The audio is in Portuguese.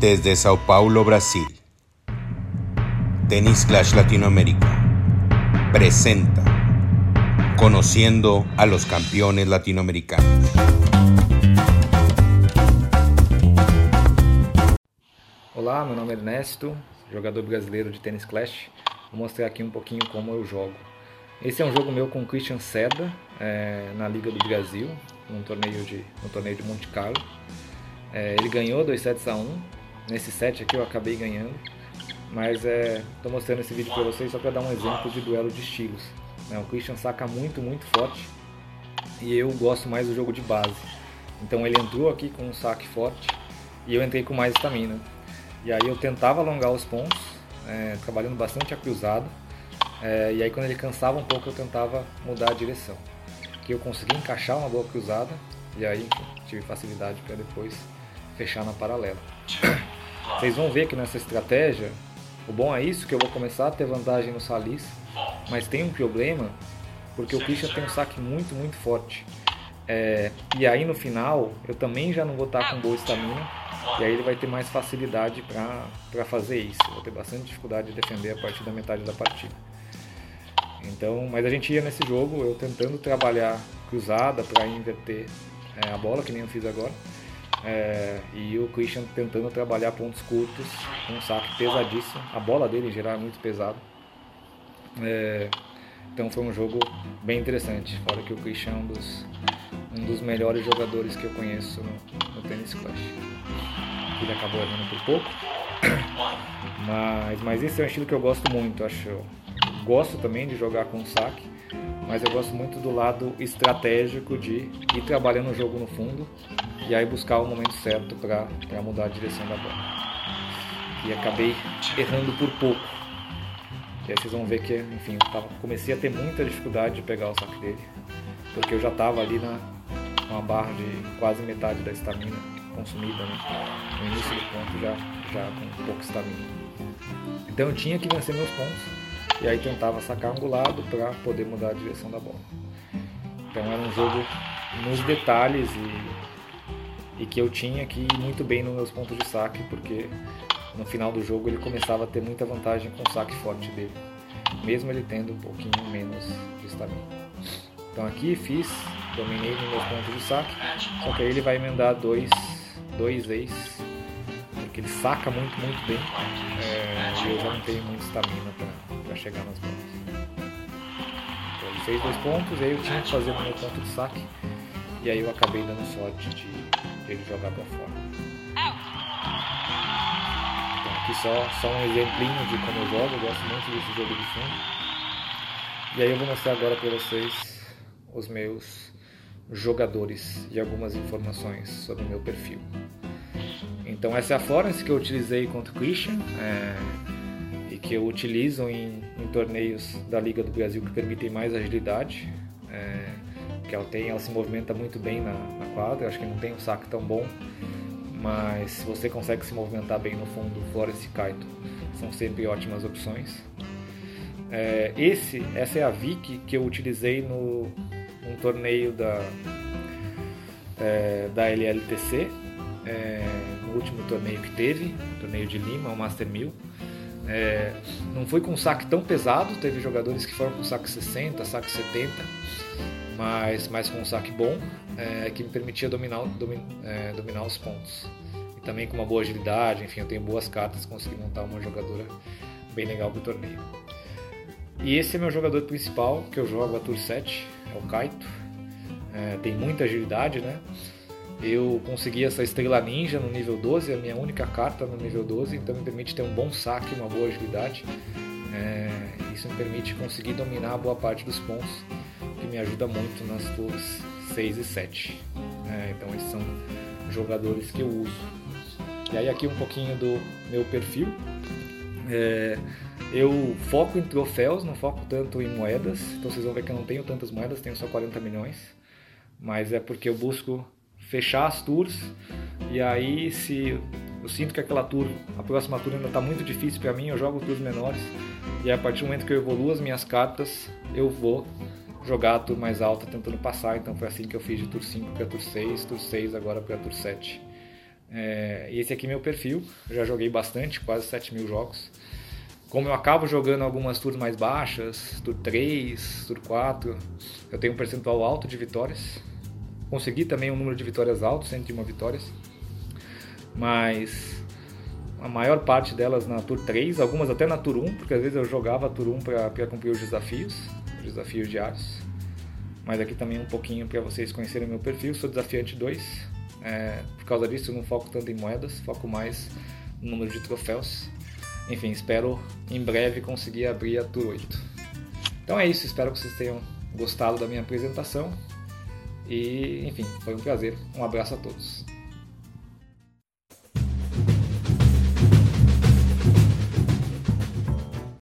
Desde Sao Paulo, Brasil, Tennis Clash Latinoamérica presenta Conociendo a los campeones latinoamericanos. Olá, meu nome é Ernesto, jogador brasileiro de Tennis Clash. Vou mostrar aqui um pouquinho como eu jogo. Esse é um jogo meu com o Christian Seda, na Liga do Brasil, no torneio de Monte Carlo. Ele ganhou 2-1. Nesse set aqui eu acabei ganhando, mas estou mostrando esse vídeo para vocês só para dar um exemplo de duelo de estilos. O Christian saca muito forte e eu gosto mais do jogo de base. Então ele entrou aqui com um saque forte e eu entrei com mais estamina. E aí eu tentava alongar os pontos, trabalhando bastante a cruzada, e aí quando ele cansava um pouco eu tentava mudar a direção. Aqui eu consegui encaixar uma boa cruzada e aí tive facilidade para depois fechar na paralela. Vocês vão ver que nessa estratégia, o bom é isso, que eu vou começar a ter vantagem no salis, mas tem um problema, porque o Christian tem um saque muito forte. E aí no final, eu também já não vou estar com boa estamina, e aí ele vai ter mais facilidade para fazer isso. Eu vou ter bastante dificuldade de defender a partir da metade da partida. Então, mas a gente ia nesse jogo, eu tentando trabalhar cruzada para inverter a bola, que nem eu fiz agora. E o Christian tentando trabalhar pontos curtos com um saque pesadíssimo. A bola dele em geral é muito pesada. Então foi um jogo bem interessante. Fora que o Christian é um dos melhores jogadores que eu conheço no Tennis Clash. Ele acabou errando por pouco. Mas esse é um estilo que eu gosto muito. Gosto também de jogar com saque, mas eu gosto muito do lado estratégico de ir trabalhando o jogo no fundo e aí buscar o momento certo para mudar a direção da bola. E acabei errando por pouco. E aí vocês vão ver que, enfim, comecei a ter muita dificuldade de pegar o saque dele, porque eu já estava ali com uma barra de quase metade da estamina consumida, né? No início do ponto já com pouca estamina. Então eu tinha que vencer meus pontos. E aí tentava sacar angulado para poder mudar a direção da bola. Então era um jogo nos detalhes e que eu tinha que ir muito bem nos meus pontos de saque, porque no final do jogo ele começava a ter muita vantagem com o saque forte dele, mesmo ele tendo um pouquinho menos de estamina. Então aqui dominei nos meus pontos de saque, só que aí ele vai emendar dois ace, porque ele saca muito bem, e eu já não tenho muita estamina para chegar nas bolas. Então ele fez 2 pontos, e aí eu tinha que fazer o meu ponto de saque, e aí eu acabei dando sorte de ele jogar para fora. Então aqui só um exemplinho de como eu jogo. Eu gosto muito desse jogo de fundo. E aí eu vou mostrar agora para vocês os meus jogadores e algumas informações sobre o meu perfil. Então essa é a Florence que eu utilizei contra o Christian, e que eu utilizo em torneios da Liga do Brasil que permitem mais agilidade, que ela se movimenta muito bem na quadra. Eu acho que não tem um saque tão bom, mas se você consegue se movimentar bem no fundo, Florence e Kaito são sempre ótimas opções. Essa é a Vicky que eu utilizei num torneio da LLTC, no último torneio que teve, o torneio de Lima, o Master 1000. Não foi com saque tão pesado, teve jogadores que foram com saque 60, saque 70, mas com um saque bom, que me permitia dominar os pontos. E também com uma boa agilidade, enfim, eu tenho boas cartas, consegui montar uma jogadora bem legal para o torneio. E esse é meu jogador principal, que eu jogo a Tour 7, é o Kaito. Tem muita agilidade, né? Eu consegui essa estrela ninja no nível 12, a minha única carta no nível 12, então me permite ter um bom saque, uma boa agilidade. Isso me permite conseguir dominar boa parte dos pontos, que me ajuda muito nas tours 6 e 7. Então esses são jogadores que eu uso. E aí aqui um pouquinho do meu perfil. Eu foco em troféus, não foco tanto em moedas, então vocês vão ver que eu não tenho tantas moedas, tenho só 40 milhões, mas é porque eu busco fechar as tours, e aí se eu sinto que a próxima tour ainda está muito difícil para mim, eu jogo tours menores, e a partir do momento que eu evoluo as minhas cartas, eu vou jogar a tour mais alta tentando passar. Então foi assim que eu fiz de tour 5 para tour 6 agora para tour 7. E esse aqui é meu perfil, eu já joguei bastante, quase 7.000 jogos. Como eu acabo jogando algumas tours mais baixas, tour 3, tour 4, eu tenho um percentual alto de vitórias. Consegui também um número de vitórias alto, 101 vitórias. Mas a maior parte delas na tour 3, algumas até na tour 1, porque às vezes eu jogava a tour 1 para cumprir os desafios diários. Mas aqui também um pouquinho para vocês conhecerem o meu perfil. Sou desafiante 2, por causa disso eu não foco tanto em moedas, foco mais no número de troféus. Enfim, espero em breve conseguir abrir a Tour 8. Então é isso, espero que vocês tenham gostado da minha apresentação. E, enfim, foi um prazer. Um abraço a todos.